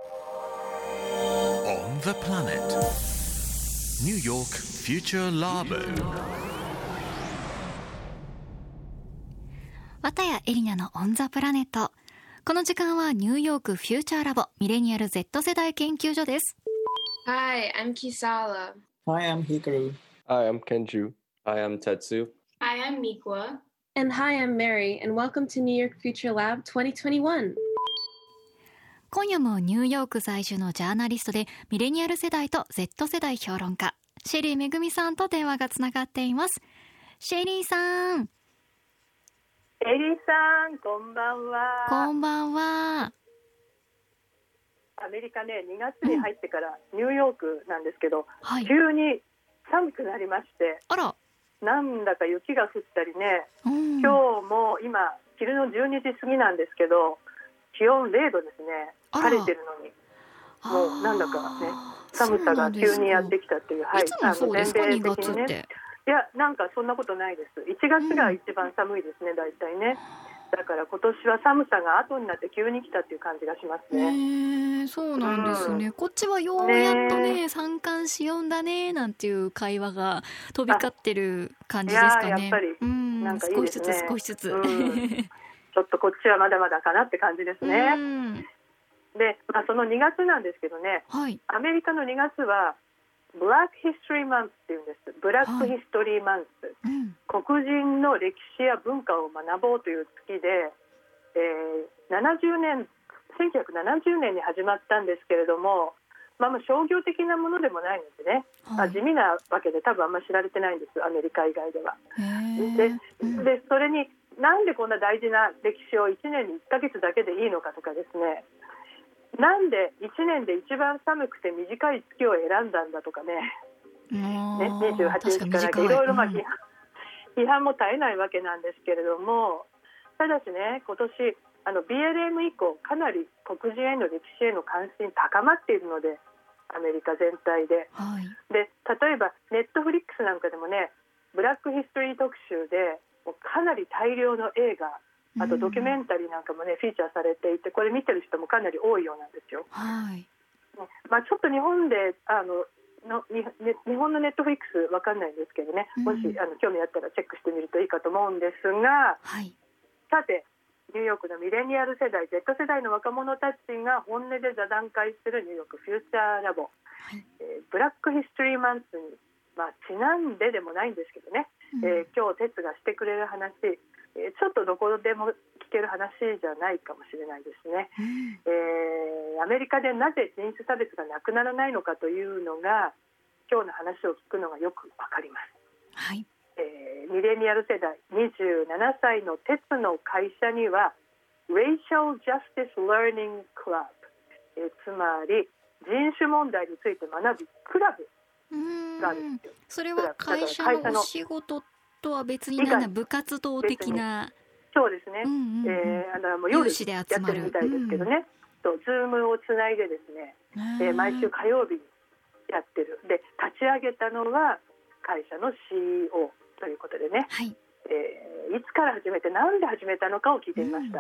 On the planet New York Future Labo 綿谷エリナのオンザプラネット。この時間はニューヨークフューチャーラボミレニアル Z 世代研究所です。 Hi, I'm Kisala. Hi, I'm Hikaru. Hi, I'm Kenju. Hi, I'm Tetsu. Hi, I'm Mikwa. And hi, I'm Mary, and welcome to New York Future Lab 2021. 今夜もニューヨーク在住のジャーナリストでミレニアル世代と Z 世代評論家シェリーめぐみさんと電話がつながっています。シェリーさん。 エリさん、こんばんは。 こんばんは。 アメリカね、2月に入ってからニューヨークなんですけど、 はい、 急に寒くなりまして、 あら、 なんだか雪が降ったりね、 今日も今昼の12時過ぎなんですけど、気温0度ですね。晴れてるのにもうなんだかね、寒さが急にやってきたっていう、 いつもそうですか、2月って。 いや、なんかそんなことないです。1月が一番寒いですね、大体ね。だから今年は寒さが後になって急に来たっていう感じがしますね。 そうなんですね、こっちはようやっとね、三寒四温だねなんていう会話が飛び交ってる感じですかね。 やっぱりなんかいいですね。 少しずつちょっとこっちはまだまだかなって感じですね。で、その2月なんですけどね、 はい、 アメリカの2月はブラックヒストリーマンスっていうんです。ブラックヒストリーマンス、黒人の歴史や文化を学ぼうという月で、1970年に始まったんですけれども、商業的なものでもないのでね、地味なわけで多分あんまり知られてないんです、アメリカ以外では。でそれになんでこんな大事な歴史を1年に1ヶ月だけでいいのかとかですね、なんで1年で一番寒くて短い月を選んだんだとかね、28日からいろいろ批判も絶えないわけなんですけれども、ただしね、今年BLM 以降かなり黒人への歴史への関心高まっているので、アメリカ全体で、で例えばネットフリックスなんかでもね、ブラックヒストリー特集でもうかなり大量の映画、あとドキュメンタリーなんかもね、フィーチャーされていて、これ見てる人もかなり多いようなんですよ。ちょっと日本で日本のネットフリックスわかんないんですけどね、もし興味あったらチェックしてみるといいかと思うんですが、さてニューヨークのミレニアル世代 Z 世代の若者たちが本音で座談会するニューヨークフューチャーラボ、ブラックヒストリーマンスに、ちなんででもないんですけどね、今日哲がしてくれる話、ちょっとどこでも聞ける話じゃないかもしれないですね。アメリカでなぜ人種差別がなくならないのかというのが、今日の話を聞くのがよくわかります。ミレニアル世代27歳の鉄の会社には Racial Justice Learning Club、つまり人種問題について学ぶクラブがあるんですよ。 それは会社のお仕事とは別に部活動的な。 そうですね、もう夜やってるみたいですけどね、ズームをつないでですね、毎週火曜日にやってる。で立ち上げたのは会社の CEOということでね、いつから始めてなんで始めたのかを聞いてみました。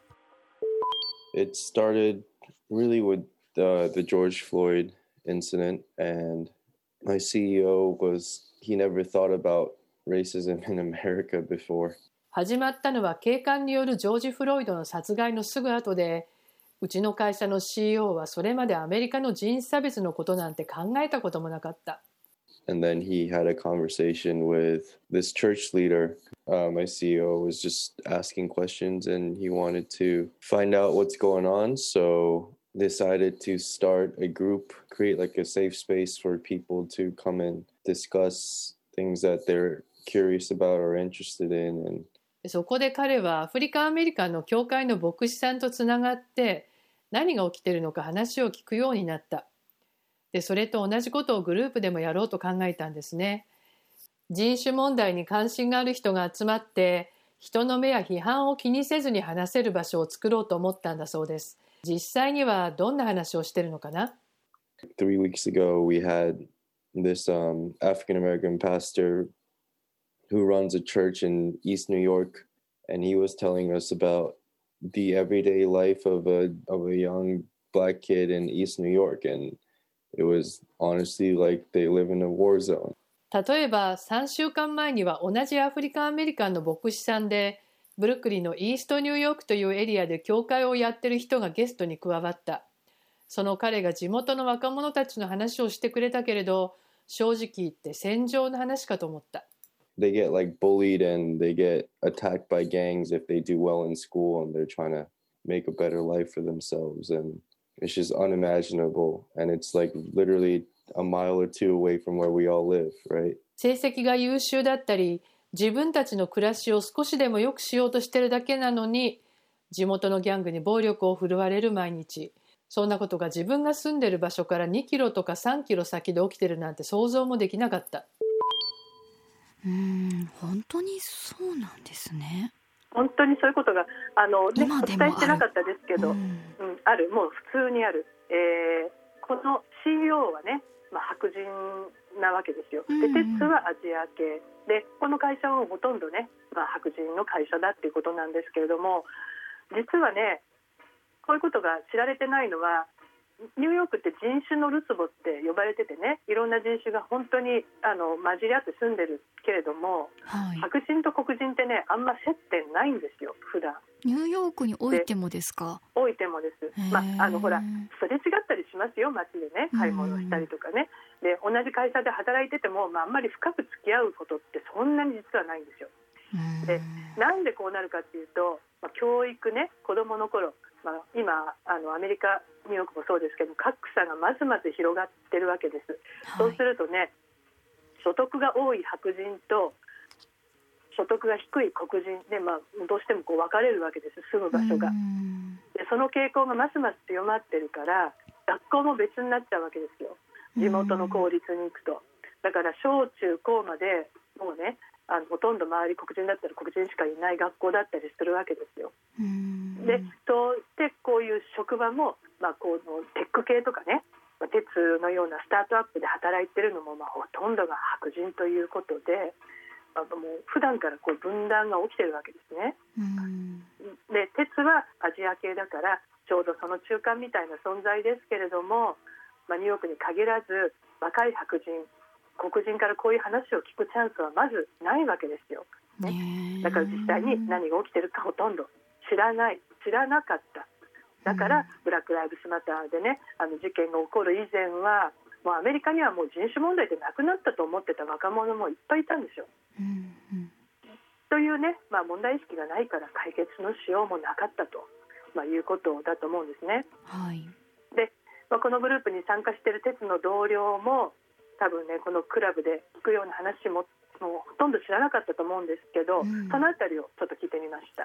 It started really with the George Floyd incident, and my CEO he never thought about racism in America before. 始まったのは警官によるジョージ・フロイドの殺害のすぐ後で、うちの会社の CEO はそれまでアメリカの人種差別のことなんて考えたこともなかった。 And then he had a conversation with this church leader. My CEO was just asking questions and he wanted to find out what's going on. So decided to start a group, create like a safe space for people to come and discuss things that they're curious about or interested in. And そこで彼はアフリカンアメリカンの教会の牧師さんとつながって何が起きているのか話を聞くようになった。でそれと同じことをグループでもやろうと考えたんですね。人種問題に関心がある人が集まって人の目や批判を気にせずに話せる場所を作ろうと思ったんだそうです。実際にはどんな話をしてるのかな？ 3 weeks ago we had this African American pastor who runs a church in East New York, and he was telling us about the everyday life of a young black kid in East New York, and it was honestly like they live in a war zone. 例えば3週間前には同じアフリカンアメリカンの牧師さんでブルックリンのイーストニューヨークというエリアで教会をやってる人がゲストに加わった。その彼が地元の若者たちの話をしてくれたけれど、正直言って戦場の話かと思った。 They get like bullied and they get attacked by gangs if they do well in school and they're trying to make a better life for themselves, and it's just unimaginable, and it's like literally a mile or two away from where we all live, right? 成績が優秀だったり自分たちの暮らしを少しでも良くしようとしてるだけなのに地元のギャングに暴力を振るわれる毎日。そんなことが自分が住んでる場所から2キロとか3キロ先で起きてるなんて想像もできなかった。 本当にそうなんですね。 本当にそういうことがお伝えしてなかったですけど、ある、もう普通にある。この CEO はね、白人なわけですよ。で、鉄はアジア系で、この会社はほとんどね、白人の会社だっていうことなんですけれども、実はね、こういうことが知られてないのは、ニューヨークって人種のるつぼって呼ばれててね、いろんな人種が本当に混じり合って住んでるけれども、白人と黒人ってね、あんま接点ないんですよ、普段。 ニューヨークにおいてもですか？ おいてもです。ほら、すれ違ったりしますよ、街でね、買い物したりとかね。で、同じ会社で働いてても、あんまり深く付き合うことってそんなに実はないんですよ。で、なんでこうなるかっていうと、教育ね、子どもの頃、今アメリカニューヨークもそうですけど、格差がまずまず広がってるわけです、そうするとね、所得が多い白人と所得が低い黒人で、どうしてもこう分かれるわけです、住む場所が。で、その傾向がますます強まってるから、学校も別になっちゃうわけですよ、地元の公立に行くと。だから小中高までもうね、ほとんど周り黒人だったら黒人しかいない学校だったりするわけですよ。で、そうしてこういう職場も、このテック系とかね、鉄のようなスタートアップで働いてるのも、ほとんどが白人ということで、もう普段からこう分断が起きてるわけですね。で、鉄はアジア系だからちょうどその中間みたいな存在ですけれども、ニューヨークに限らず若い白人黒人からこういう話を聞くチャンスはまずないわけですよ、ね。だから実際に何が起きてるかほとんど知らなかった。だからブラックライブスマターでね、事件が起こる以前はもうアメリカにはもう人種問題でなくなったと思ってた若者もいっぱいいたんですよ。というね、問題意識がないから解決のしようもなかったと、いうことだと思うんですね。で、このグループに参加している鉄の同僚も多分ね、このクラブで聞くような話もほとんど知らなかったと思うんですけど、そのあたりをちょっと聞いてみました。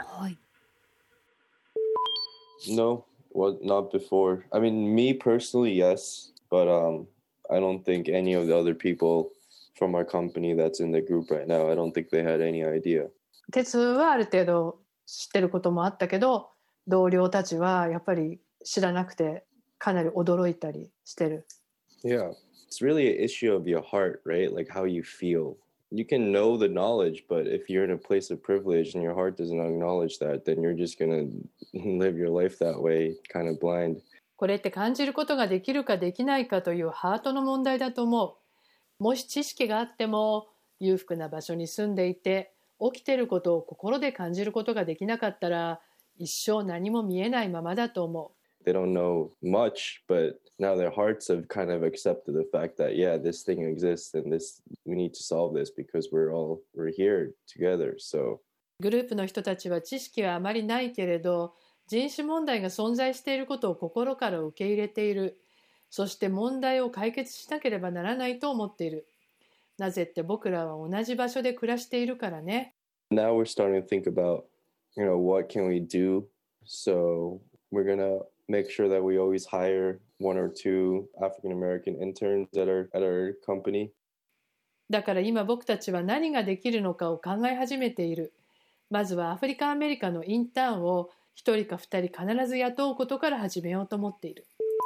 No, well, not before. I mean, me personally, yes, but I don't think any of the other people from our company that's in the group right now, I don't think they had any idea. 鉄はある程度知ってることもあったけど、同僚たちはやっぱり知らなくてかなり驚いたりしてる。 Yeah, it's really an issue of your heart, right? Like how you feel. You can know the knowledge, but if you're in a place of privilege and your heart doesn't acknowledge that, then you're just going to live your life that way, kind of blind. これって感じることができるかできないかというハートの問題だと思う。もし知識があっても裕福な場所に住んでいて起きていることを心で感じることができなかったら一生何も見えないままだと思う。 They don't know much, but now their hearts have kind of accepted the fact that, yeah, this thing exists and we need to solve this because we're here together. So グループの人たちは知識はあまりないけれど、人種問題が存在していることを心から受け入れている。そして問題を解決しなければならないと思っている。なぜって僕らは同じ場所で暮らしているからね。 Now we're starting to think about, what can we do? So we're gonna make sure that we always hire one or two African American interns at our company. だから今僕たちは何ができるのかを考え始めている。まずはアフリカンアメリカのインターンを1人か2人必ず雇うことから始めようと思っている。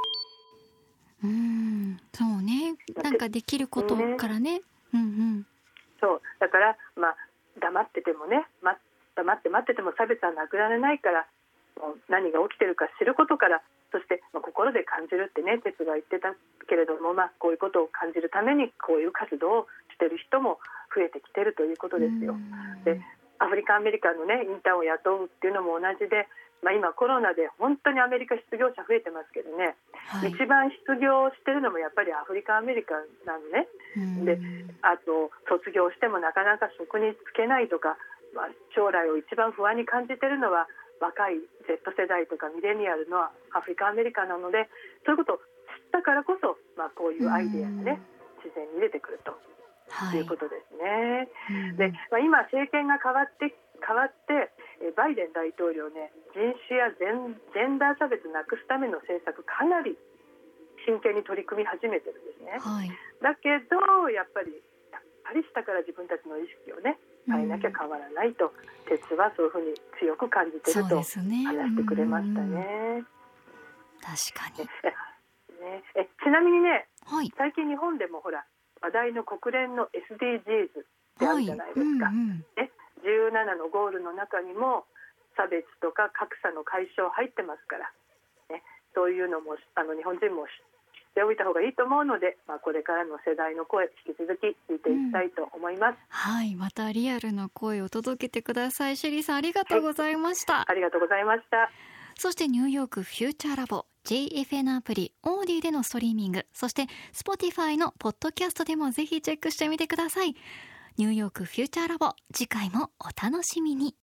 そうね。なんかできることからね。 そうだから、黙っててもね、黙って待ってても差別はなくならないから、もう何が起きてるか知ることからそして、心で感じるってね、哲が言ってたけれども、こういうことを感じるためにこういう活動をしている人も増えてきているということですよ。で、アフリカンアメリカンのね、インターンを雇うっていうのも同じで、今コロナで本当にアメリカ失業者増えてますけどね、一番失業してるのもやっぱりアフリカンアメリカンなのね。で、あと卒業してもなかなか職に就けないとか、将来を一番不安に感じてるのは若い Z 世代とかミレニアルのアフリカンアメリカンなので、そういうことを知ったからこそ、こういうアイデアがね、自然に出てくるということですね。で、今政権が変わってバイデン大統領ね、人種やジェンダー差別なくすための政策かなり真剣に取り組み始めてるんですね。だけどやっぱり下から自分たちの意識をね変えなきゃ変わらないと、哲はそういうふうに強く感じてると話してくれましたね。 確かにちなみにね、最近日本でもほら話題の国連の SDGs ってあるじゃないですか。17のゴールの中にも差別とか格差の解消入ってますから、そういうのも日本人も知っておいた方がいいと思うので、これからの世代の声引き続き聞いていきたいと思います。 またリアルな声を届けてください。シェリーさん、ありがとうございました。 ありがとうございました。 そしてニューヨークフューチャーラボ JFN アプリオーディでのストリーミング、そして Spotify のポッドキャストでもぜひチェックしてみてください。ニューヨークフューチャーラボ、次回もお楽しみに。